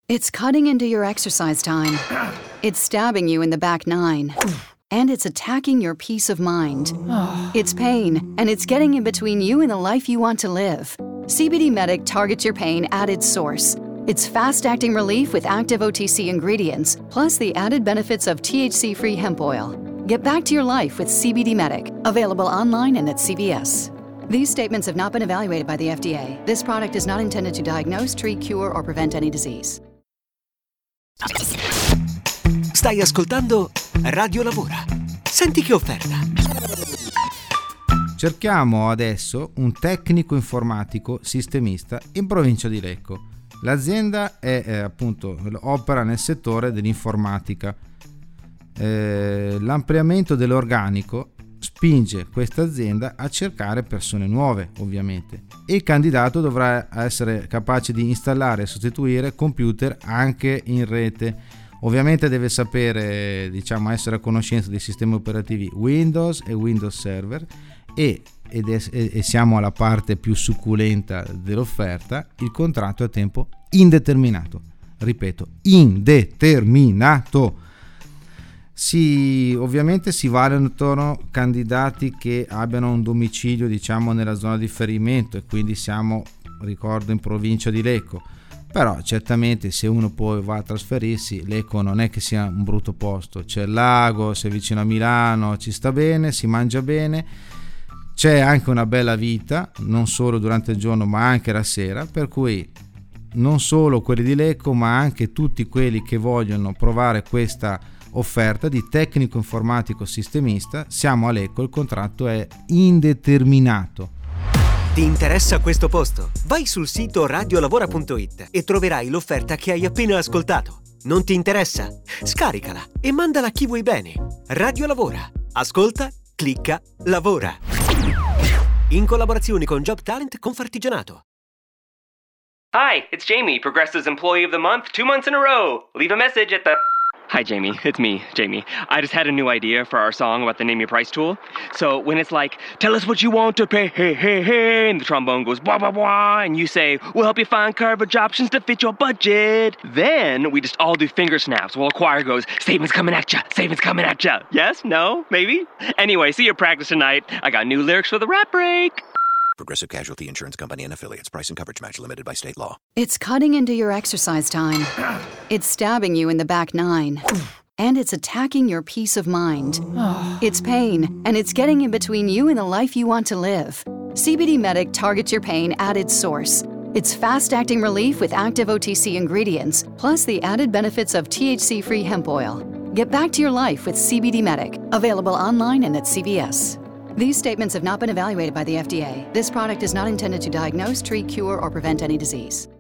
It's cutting into your exercise time. It's stabbing you in the back nine. And it's attacking your peace of mind. It's pain, and it's getting in between you and the life you want to live. CBD Medic targets your pain at its source. It's fast-acting relief with active OTC ingredients, plus the added benefits of THC-free hemp oil. Get back to your life with CBD Medic, available online and at CVS. These statements have not been evaluated by the FDA. This product is not intended to diagnose, treat, cure, or prevent any disease. Stai ascoltando Radio Lavora. Senti che offerta. Cerchiamo adesso un tecnico informatico sistemista in provincia di Lecco. L'azienda è appunto opera nel settore dell'informatica. L'ampliamento dell'organico spinge questa azienda a cercare persone nuove, ovviamente, e il candidato dovrà essere capace di installare e sostituire computer anche in rete. Ovviamente deve sapere, essere a conoscenza dei sistemi operativi Windows e Windows Server e siamo alla parte più succulenta dell'offerta, il contratto a tempo indeterminato. Ripeto, indeterminato. Ovviamente si valutano candidati che abbiano un domicilio nella zona di riferimento e quindi siamo, ricordo, in provincia di Lecco. Però certamente se uno poi va a trasferirsi, Lecco non è che sia un brutto posto, c'è il lago, sei vicino a Milano, ci sta bene, si mangia bene, c'è anche una bella vita, non solo durante il giorno ma anche la sera, per cui non solo quelli di Lecco ma anche tutti quelli che vogliono provare questa offerta di tecnico informatico sistemista, siamo a Lecco, il contratto è indeterminato. Ti interessa questo posto? Vai sul sito radiolavora.it e troverai l'offerta che hai appena ascoltato. Non ti interessa? Scaricala e mandala a chi vuoi bene. Radio Lavora. Ascolta, clicca, lavora. In collaborazione con Job Talent Confartigianato. Hi, it's Jamie, Progressive's Employee of the Month, 2 months in a row. Leave a message at the... Hi, Jamie. It's me, Jamie. I just had a new idea for our song about the Name Your Price tool. So when it's like, tell us what you want to pay, hey, hey, hey, and the trombone goes, blah, blah, blah, and you say, we'll help you find coverage options to fit your budget. Then we just all do finger snaps while a choir goes, savings coming at ya, savings coming at ya. Yes? No? Maybe? Anyway, see you practice tonight. I got new lyrics for the rap break. Progressive Casualty Insurance Company and Affiliates. Price and coverage match limited by state law. It's cutting into your exercise time. It's stabbing you in the back nine. And it's attacking your peace of mind. It's pain, and it's getting in between you and the life you want to live. CBD Medic targets your pain at its source. It's fast-acting relief with active OTC ingredients, plus the added benefits of THC-free hemp oil. Get back to your life with CBD Medic, available online and at CVS. These statements have not been evaluated by the FDA. This product is not intended to diagnose, treat, cure, or prevent any disease.